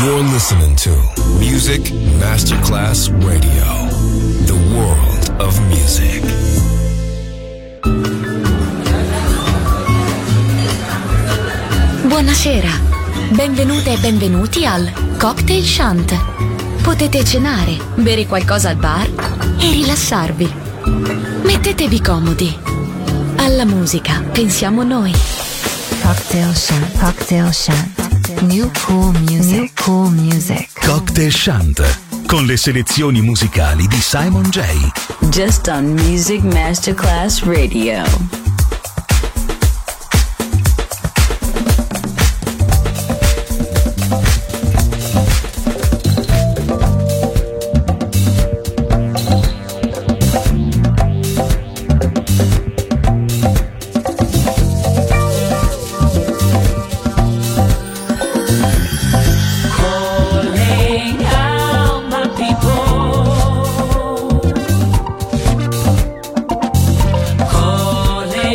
You're listening to Music Masterclass Radio, the world of music. Buonasera, benvenute e benvenuti al Cocktail Shant. Potete cenare, bere qualcosa al bar e rilassarvi. Mettetevi comodi. Alla musica pensiamo noi. Cocktail Shant, Cocktail Shant. New cool music, new cool music. Cocktail Shant, con le selezioni musicali di Simon J. Just on Music Masterclass Radio. Calling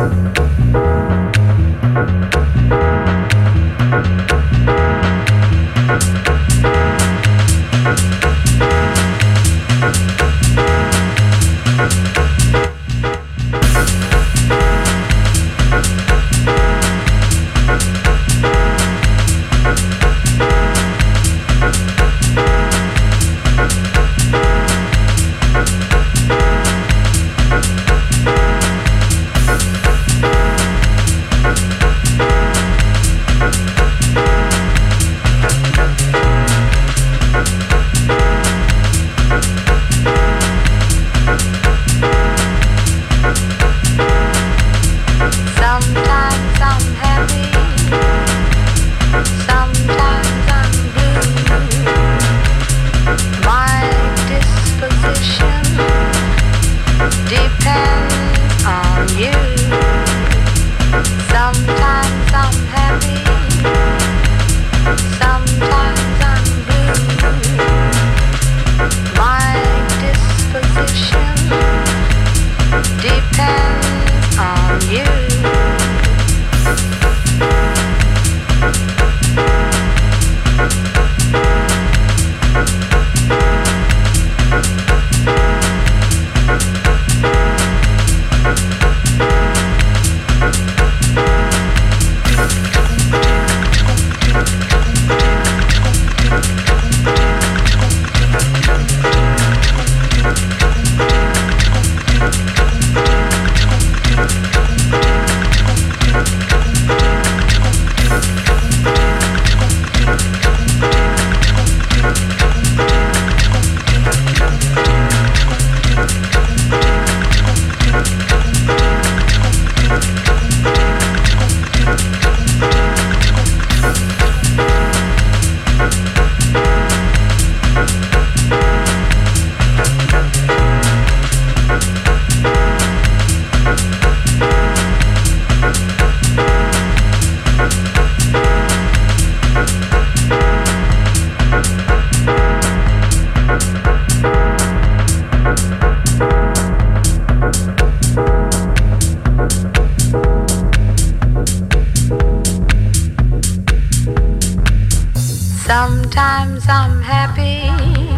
Sometimes I'm happy,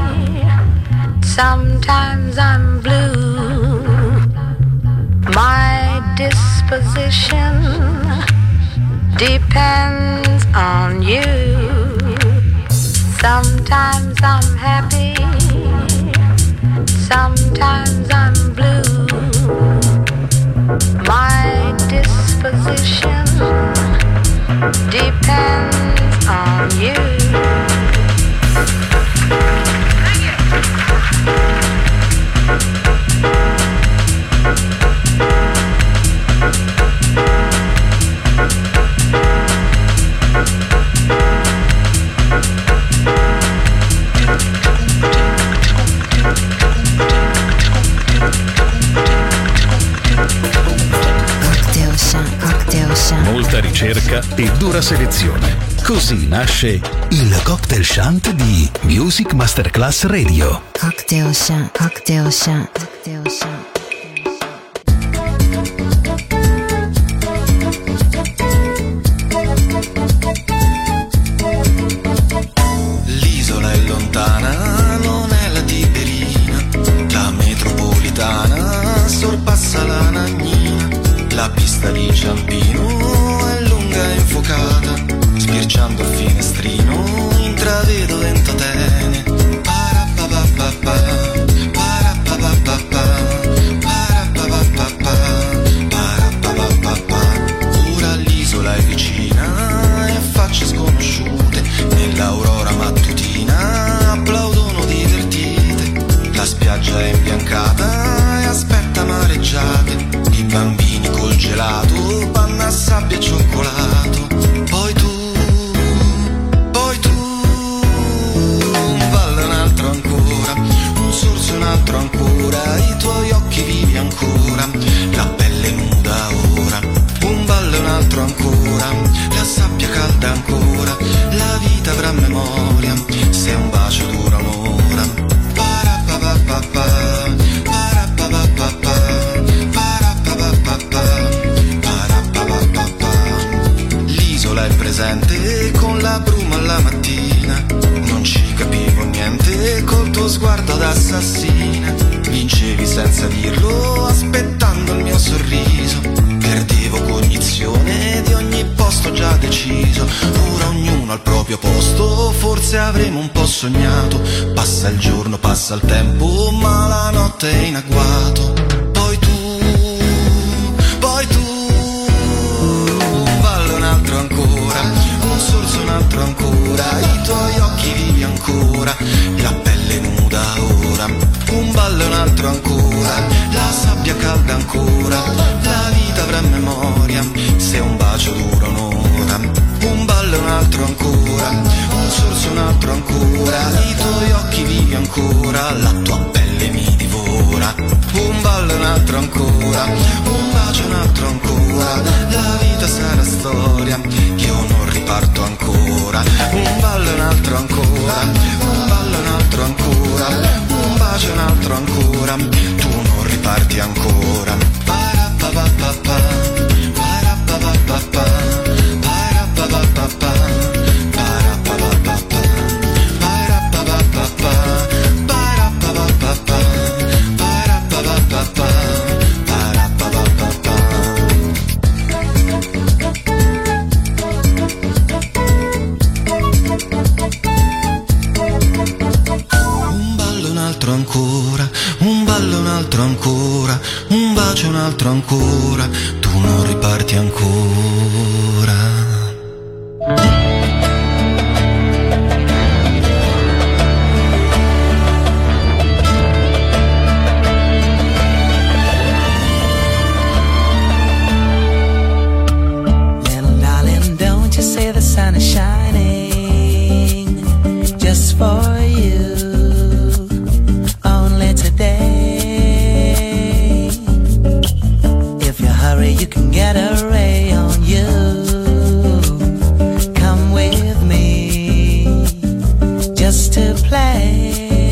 sometimes I'm blue. My disposition depends on you. Sometimes I'm happy, sometimes I'm blue. My disposition depends on you. Molta ricerca e dura selezione. Così nasce il Cocktail Shant di Music Masterclass Radio. Cocktail Shant, Cocktail Shant, Cocktail Shant. L'isola è lontana, non è la Tiberina, la metropolitana sorpassa la Nagnina, la pista di Ciampino è lunga e infuocata, sbirciando il finestrino intravedo Ventotene. Parapapapapa, parapapapapa, parapapapapa, parapapapapa. Ora l'isola è vicina e facce sconosciute nell'aurora mattutina applaudono divertite. La spiaggia è imbiancata e aspetta mareggiate, i bambini col gelato, panna, sabbia e cioccolato. Poi tu, un ballo, un altro ancora, un sorso, un altro ancora, i tuoi occhi vivi ancora, la pelle nuda ora. Un ballo, un altro ancora, la sabbia calda ancora, la vita avrà memoria se un bacio dura un'ora. Parapapapapa, senza dirlo, aspettando il mio sorriso. Perdevo cognizione di ogni posto già deciso. Ora ognuno al proprio posto, forse avremo un po' sognato. Passa il giorno, passa il tempo, ma la notte è in agguato. Poi tu, un ballo, un altro ancora, un sorso, un altro ancora, i tuoi occhi vivi ancora, la pelle nuda ora. Un ballo, un altro ancora, la sabbia calda ancora, la vita avrà memoria se un bacio dura un'ora. Un ballo, un altro ancora, un sorso, un altro ancora, i tuoi occhi vivi ancora, la tua pelle mi divora. Un ballo, un altro ancora, un bacio, un altro ancora, la vita sarà storia, io non riparto ancora. Un ballo, un altro ancora, un ballo, un altro ancora, un bacio, un altro ancora, tu non riparti ancora. Parapapapapa, parapapapapa, parapapapapa, parapapapapa, parapapapapa, parapapapapa, parapapapapa, parapapapapa. Un ballo, un altro ancora, un ballo, un altro ancora, un bacio, un altro ancora, tu non riparti ancora. Little darling, don't you say the sun is shining just for you. Only today, if you hurry, you can get a ray on you. Come with me just to play.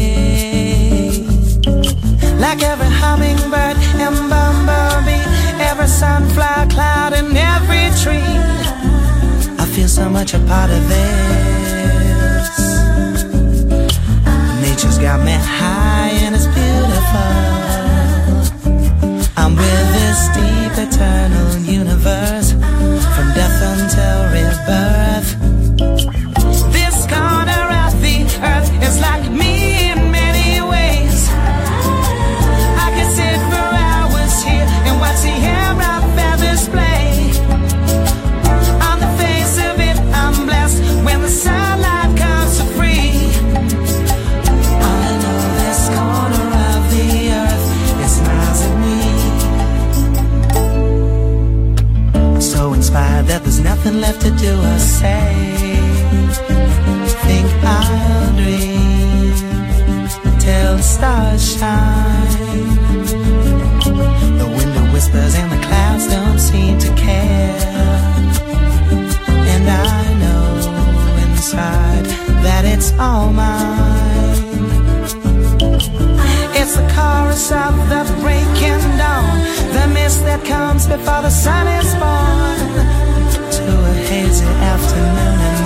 Like every hummingbird and bumblebee, every sunflower cloud and every tree, I feel so much a part of this. Nature's got me high and it's beautiful. I'm with this deep eternal universe, from death until rebirth. This corner of the earth is like me in many ways. I could sit for hours here and watch the air of feathers play. On the face of it, I'm blessed when the sunlight comes so free. I know this corner of the earth, it smiles at me. So inspired that there's nothing left to do or say. Think I'll dream till the stars shine. The wind whispers and the clouds don't seem to care. And I know inside that it's all mine. It's the chorus of the breaking dawn, the mist that comes before the sun is born, to a hazy afternoon in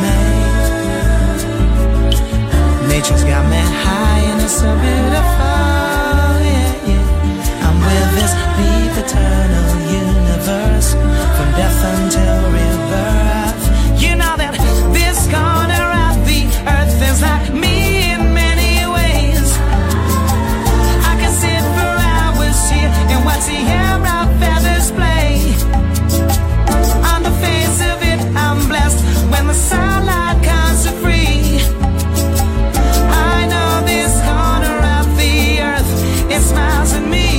May. Nature's got me high and it's so beautiful, yeah, yeah. I'm with this deep eternal universe, from death until rebirth. You know that this corner of the earth is like me in many ways. I can sit for hours here and watch the air of feathers play. On the face of it, I'm blessed when the sunlight comes so free. I know this corner of the earth, it smiles at me.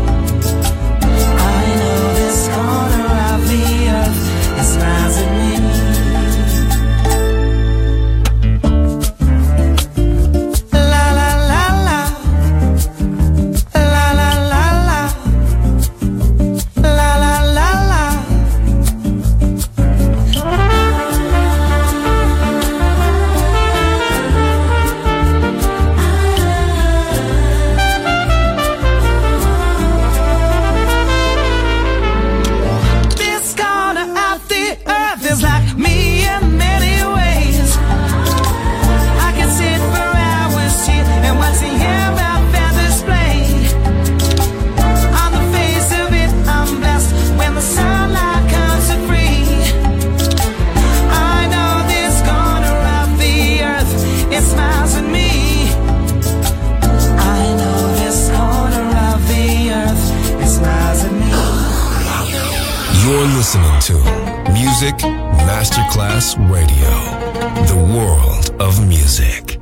I know this corner of the earth, it smiles at me. La la la la, la la la la, la la la la. listening to Music Masterclass Radio, the world of music.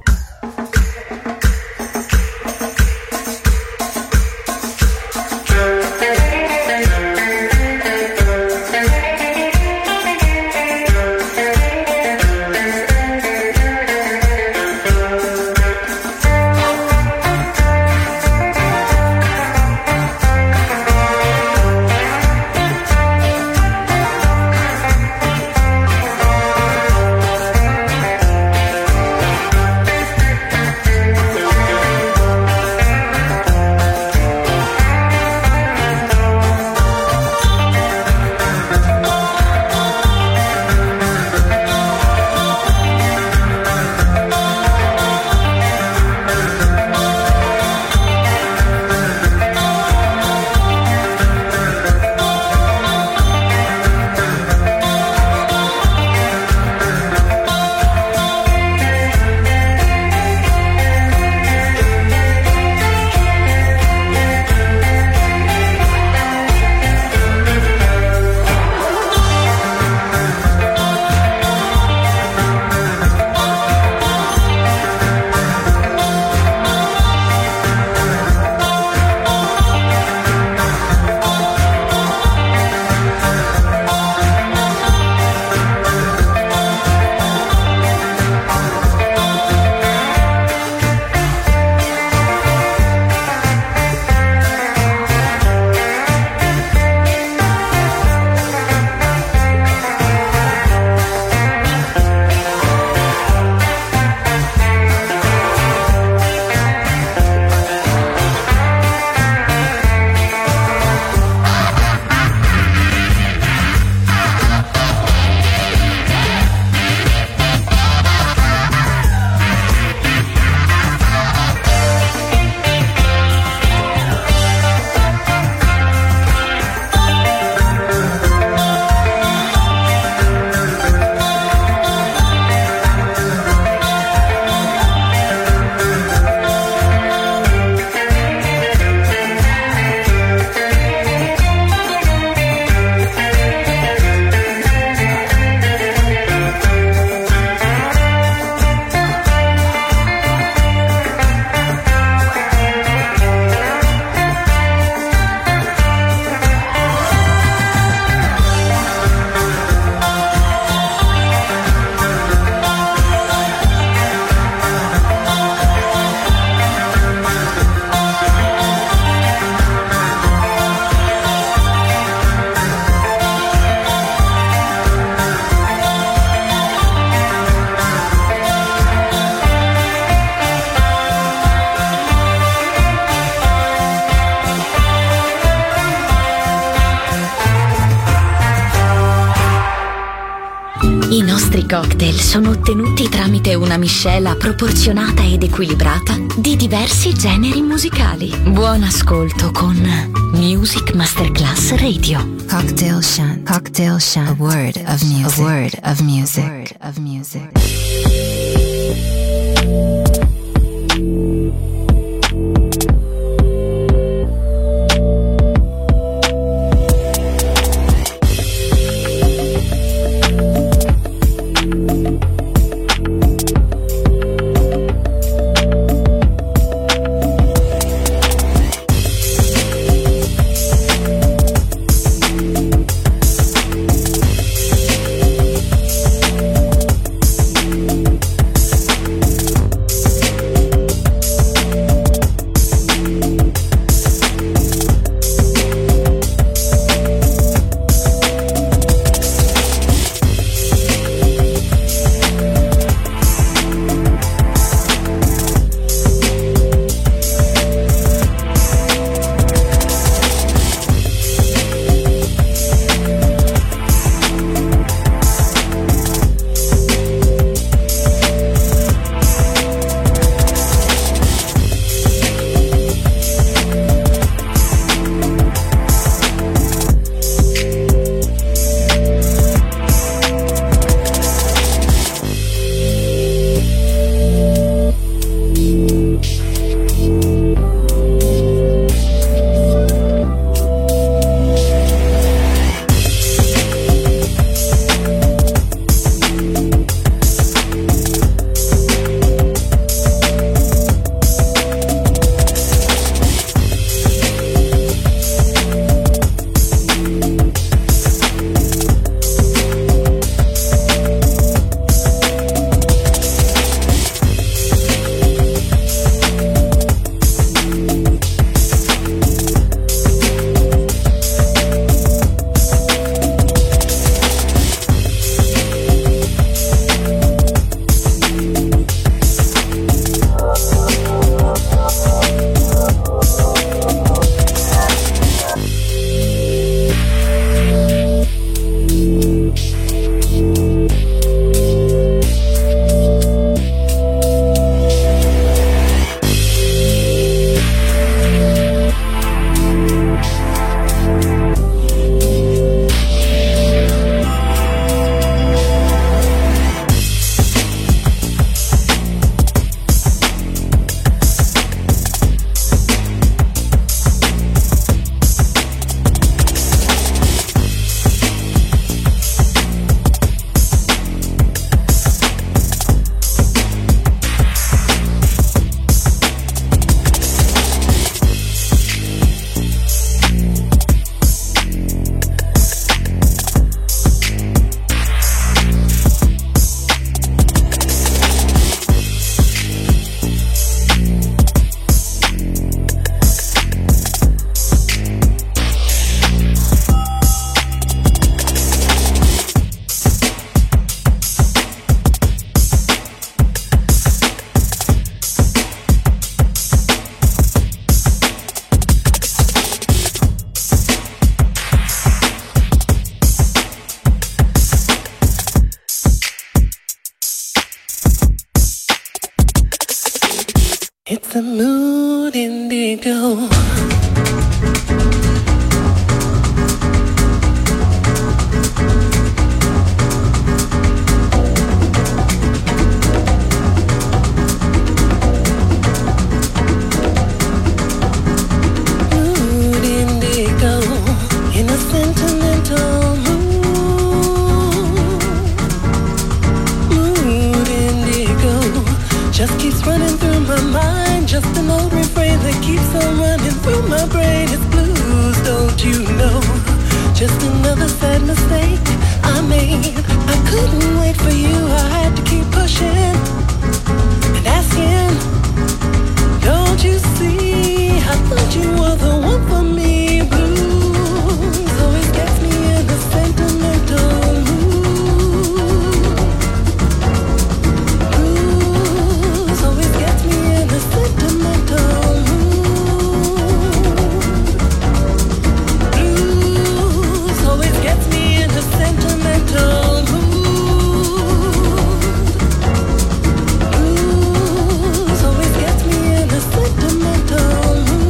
I nostri cocktail sono ottenuti tramite una miscela proporzionata ed equilibrata di diversi generi musicali. Buon ascolto con Music Masterclass Radio. Cocktail Shant. Cocktail Shant. A word of music. A word of music. A word of music. the mood indigo. Just keeps running through my mind. Just an old refrain that keeps on running through my brain. It's blues, don't you know? Just another sad mistake I made. I couldn't wait for you, I had to keep pushing and asking. Don't you see, I thought you were the one for me. Blues always gets me in a sentimental mood. Blues always gets me in a sentimental mood. Blues always gets me in a sentimental mood. Blues always gets me in a sentimental mood.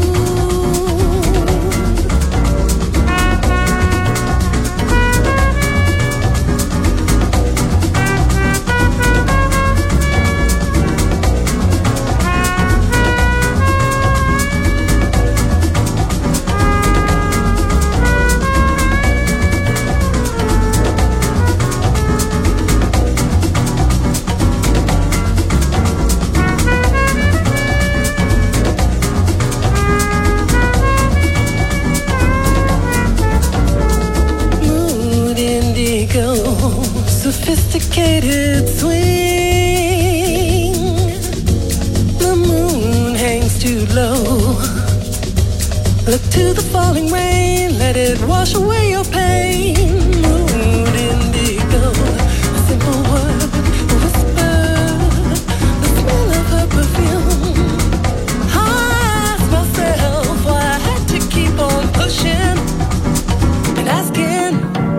Mood indigo, sophisticated swing. The moon hangs too low. Look to the falling rain, let it wash away your pain. Mood indigo, a simple word, a whisper, the smell of her perfume. I asked myself why I had to keep on pushing and asking.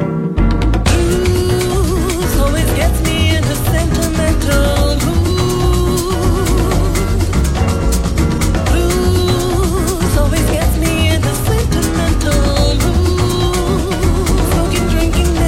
Blues always gets me in a sentimental mood. Blues always gets me in a sentimental mood. Smoking, drinking,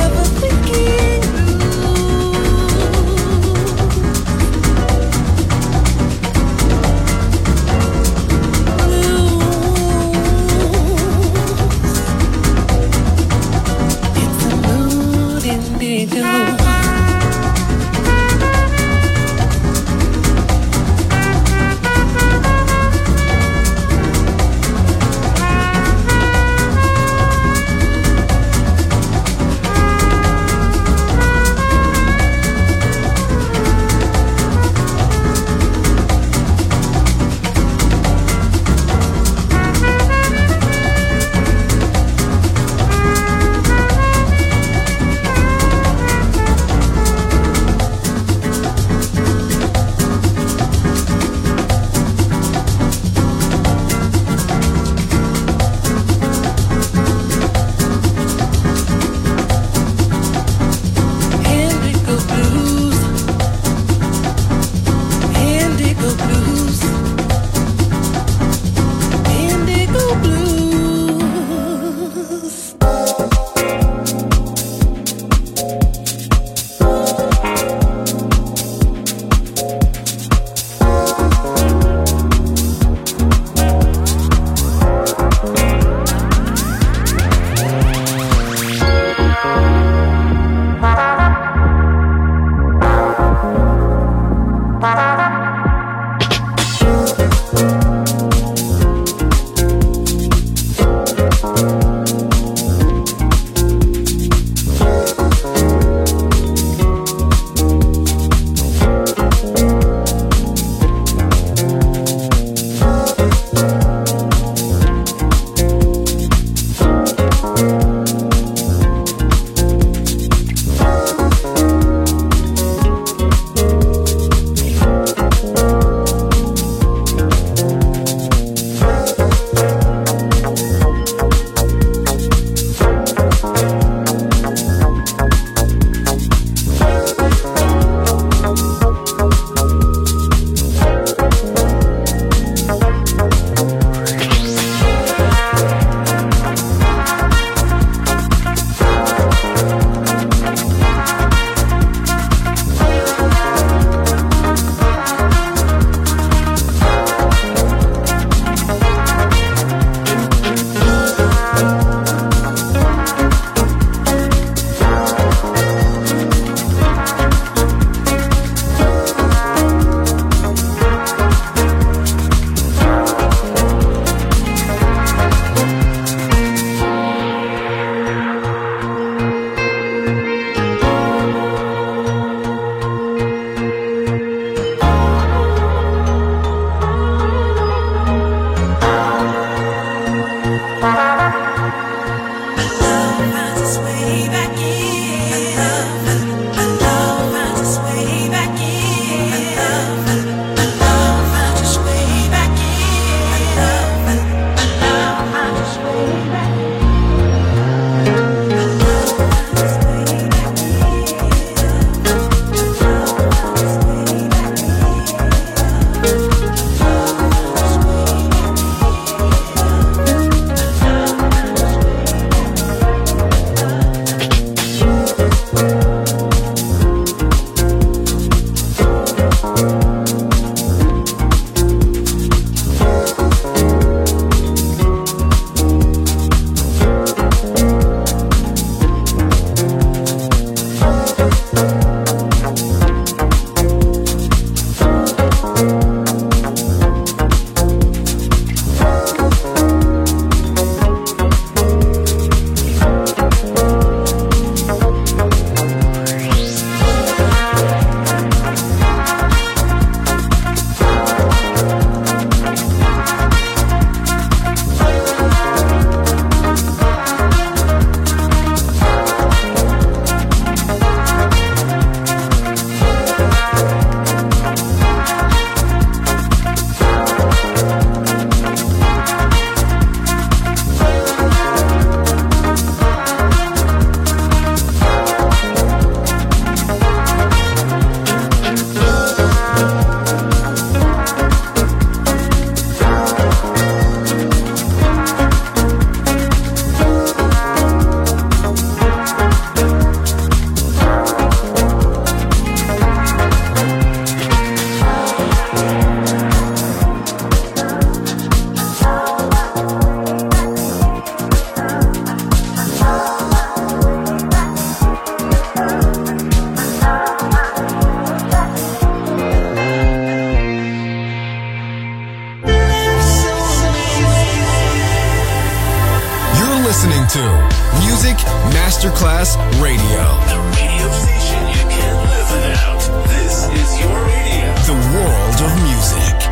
listening to Music Masterclass Radio. The radio station you can't live without. This is your radio. The world of music.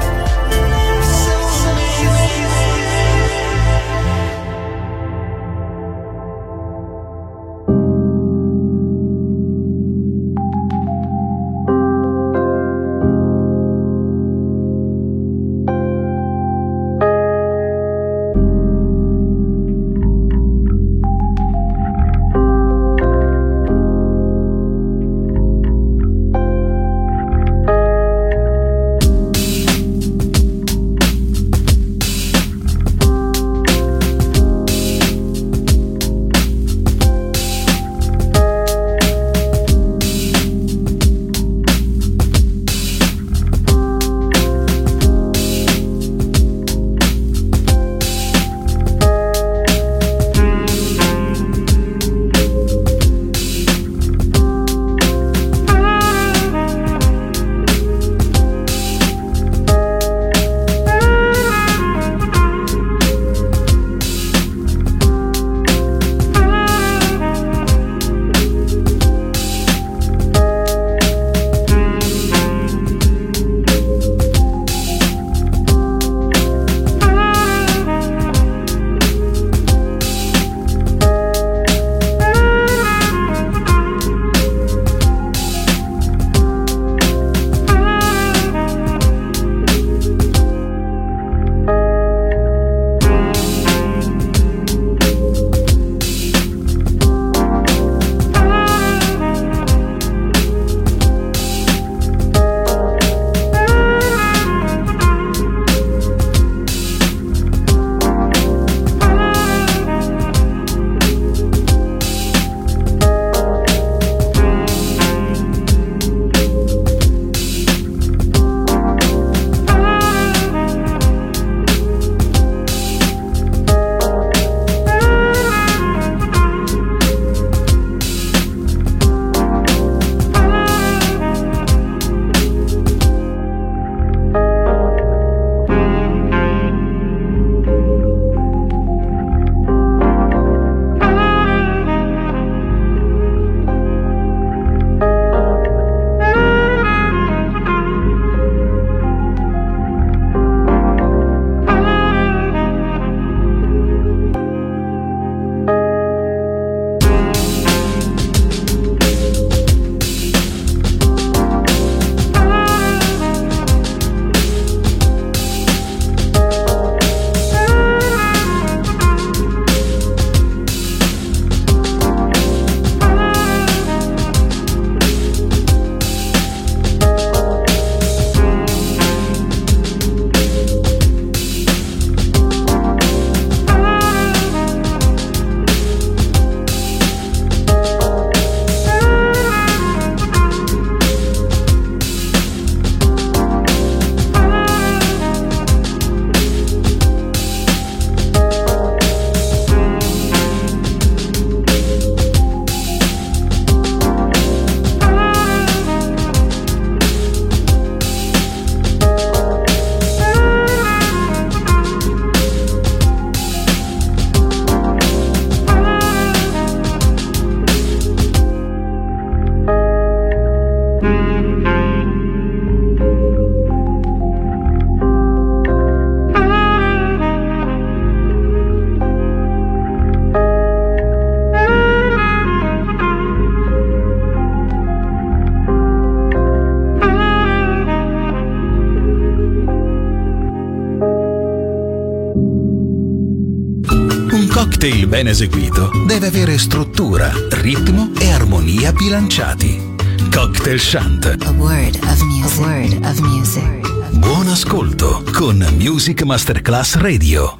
cocktail ben eseguito deve avere struttura, ritmo e armonia bilanciati. Cocktail Shant. A word of music. A word of music. Buon ascolto con Music Masterclass Radio.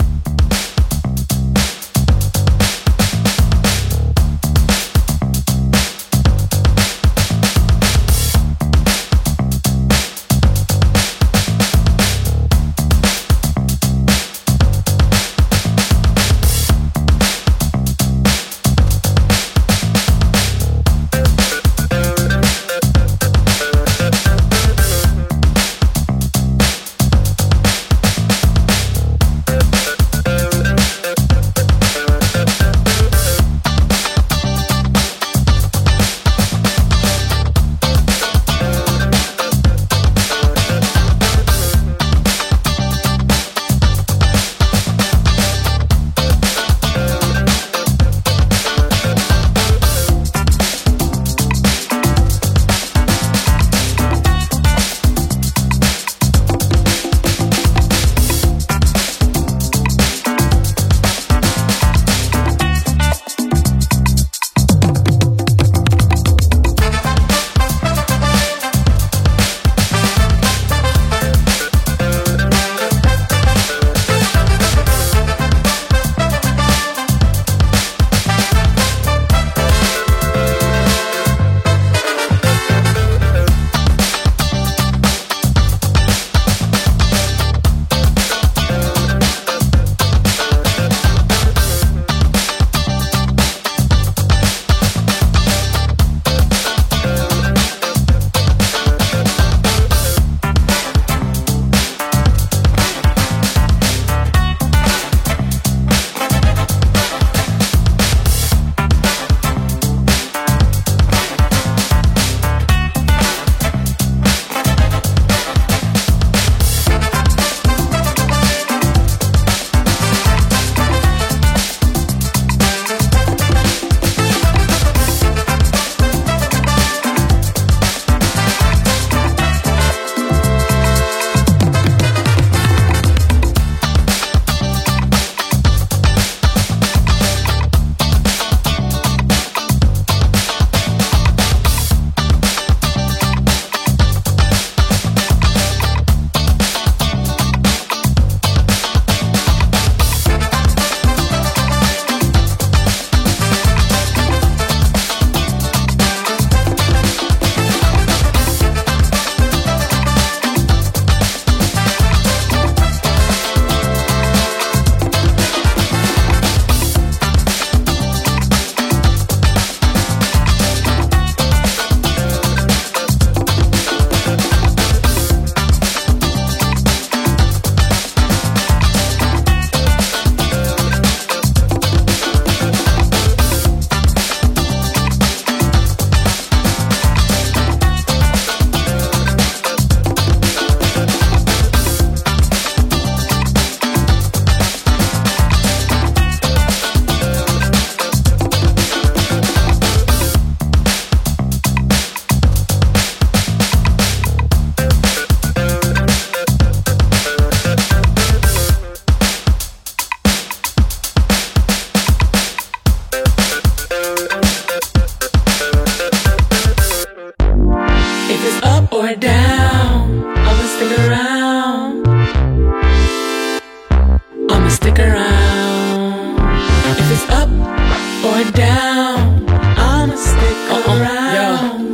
or down, I'ma stick around.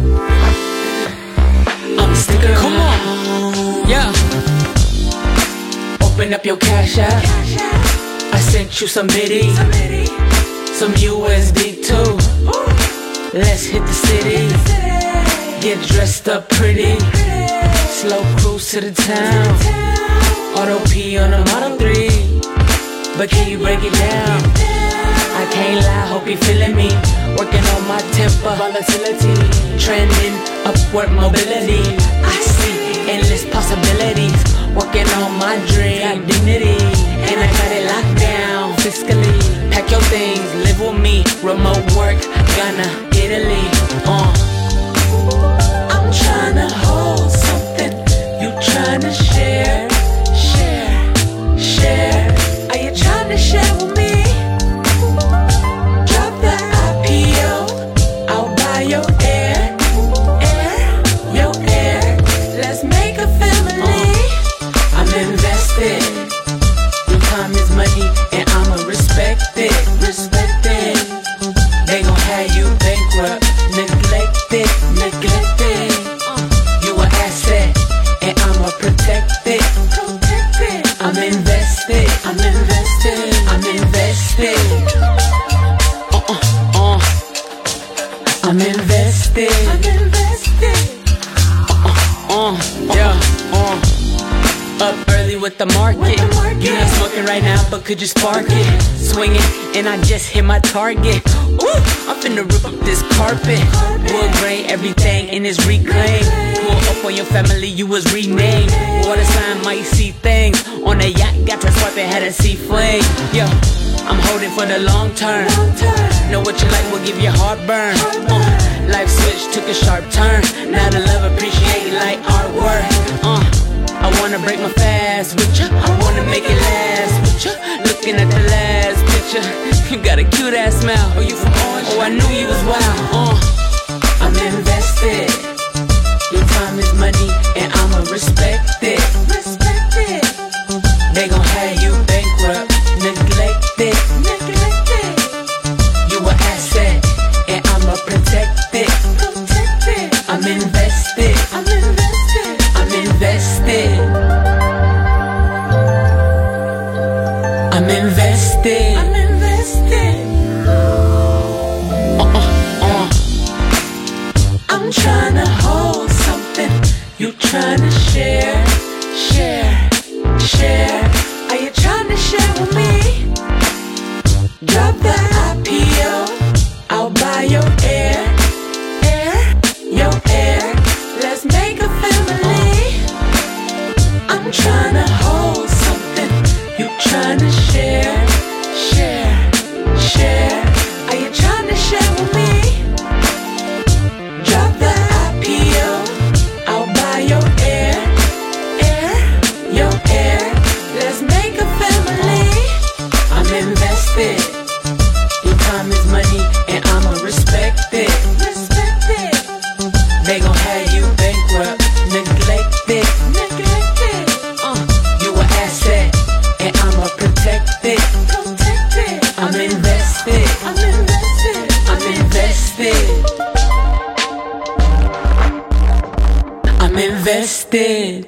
I'ma stick around. Come on, yeah. Open up your cash app. I sent you some biddies, some USD too. Let's hit the city, get dressed up pretty. Slow cruise to the town. Auto P on a Model 3. But can you break it down? I can't lie, hope you feeling me. Working on my temper, volatility. Trending, upward mobility. I see endless possibilities. Working on my dream, got dignity. And I got it locked down fiscally. Pack your things, live with me. Remote work, Ghana, Italy. I'm tryna hold something. You tryna share, share, share. Are you tryna share with me? Drop the IPO, I'll buy your air, your air. Let's make a family. I'm invested. Your time is money, and I'ma respect it, respect it. They gon' have you bankrupt, neglected, neglected. You an asset, and I'ma protect it, protect it. I'm invested, I'm invested, I'm invested. I'm invested, I'm invested. Yeah. Up early with the market. You not smoking right now, but could you spark it? Swinging, and I just hit my target. Ooh, I'm finna rip up this carpet. Wood grain, everything in this reclaim. Pull up on your family, you was renamed. Water sign might see things. On a yacht, got to swipe and had a sea flame. Yo, I'm holding for the long term. Know what you like will give you heartburn. Life switch took a sharp turn. Now the love appreciate like artwork. I wanna break my fast with ya. I wanna make it last with ya. Looking at the last picture, you got a cute ass smile. Oh, you from Orange? Oh, I knew you was wild. I'm invested. Your time is money, and I'ma respect it. Respect it. They gon' have you bankrupt, neglected, neglected. You an asset, and I'ma protect it, protect it. I'm invested. I'm invested. I'm invested. I'm invested. I'm invested. I'm tryna hold something. You tryna share, share, share. Are you tryna share with me? Drop the IPO, I'll buy your air, your air. Let's make a family. I'm tryna hold something. You tryna share, share, share. Are you tryna share with me? Drop the IPO, I'll buy your air, your air. Let's make a family. I'm invested. Your time is money, and I'ma respect it, respect it. They gon' have you bankrupt, neglected, neglected. You an asset, and I'ma protect it, protect it. I'm invested, I'm invested, I'm invested. I'm invested.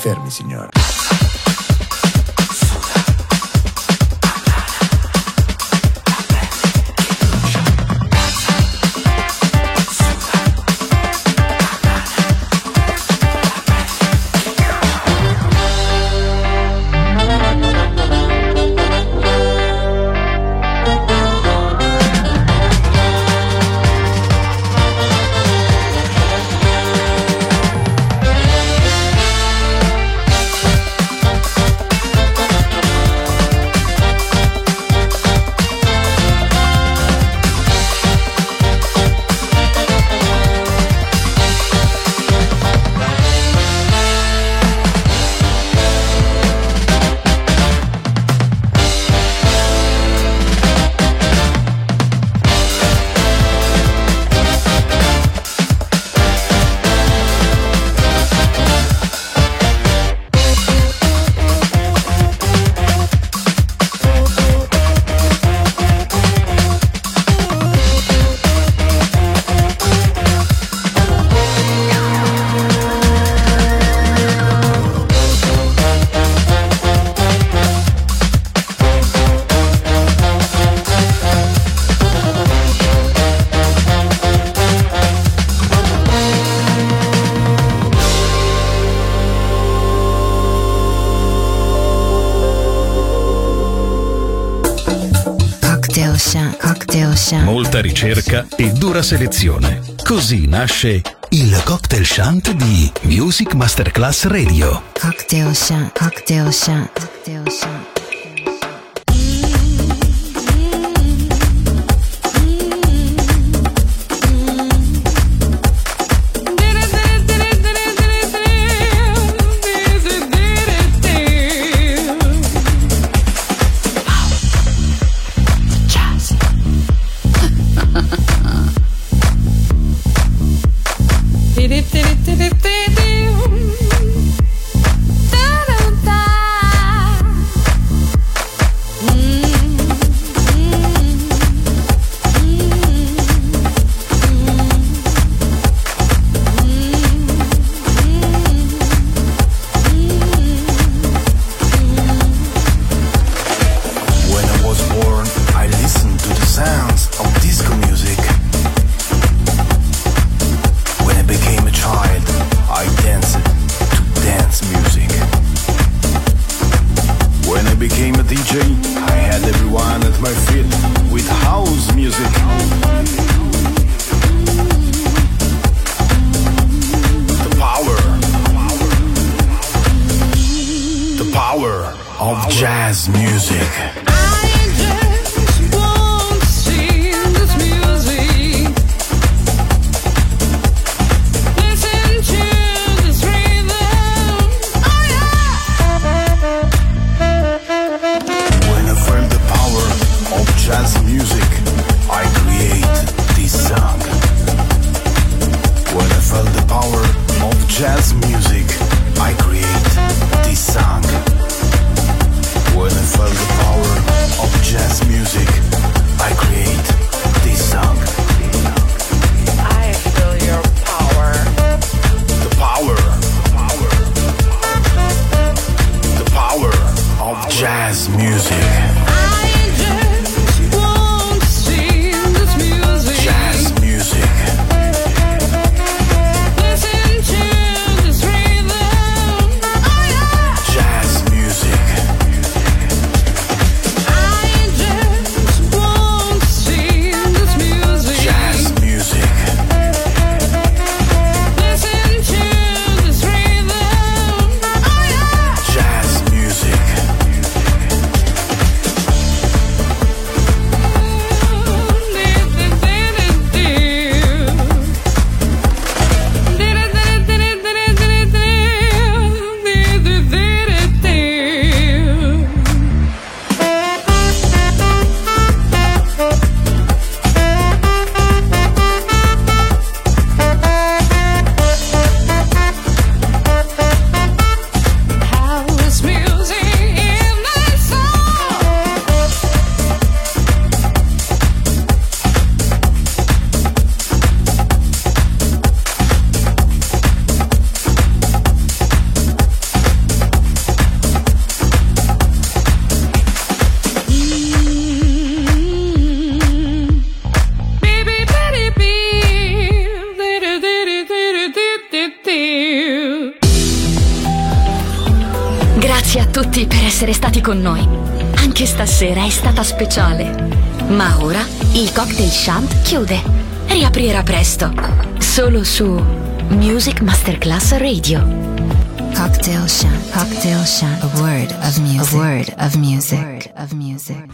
fermi, signore. Molta ricerca e dura selezione. Così nasce il Cocktail Shant di Music Masterclass Radio. Cocktail Shant, Cocktail Shant, Cocktail Shant. Of jazz music. Jazz music, I create this song. When I felt the power of jazz music, I create this song. When I felt the power Grazie a tutti per essere stati con noi. Anche stasera è stata speciale. Ma ora il Cocktail Shant chiude. Riaprirà presto. Solo su Music Masterclass Radio. Cocktail Shant. Cocktail Shant. A word of music. A word of music.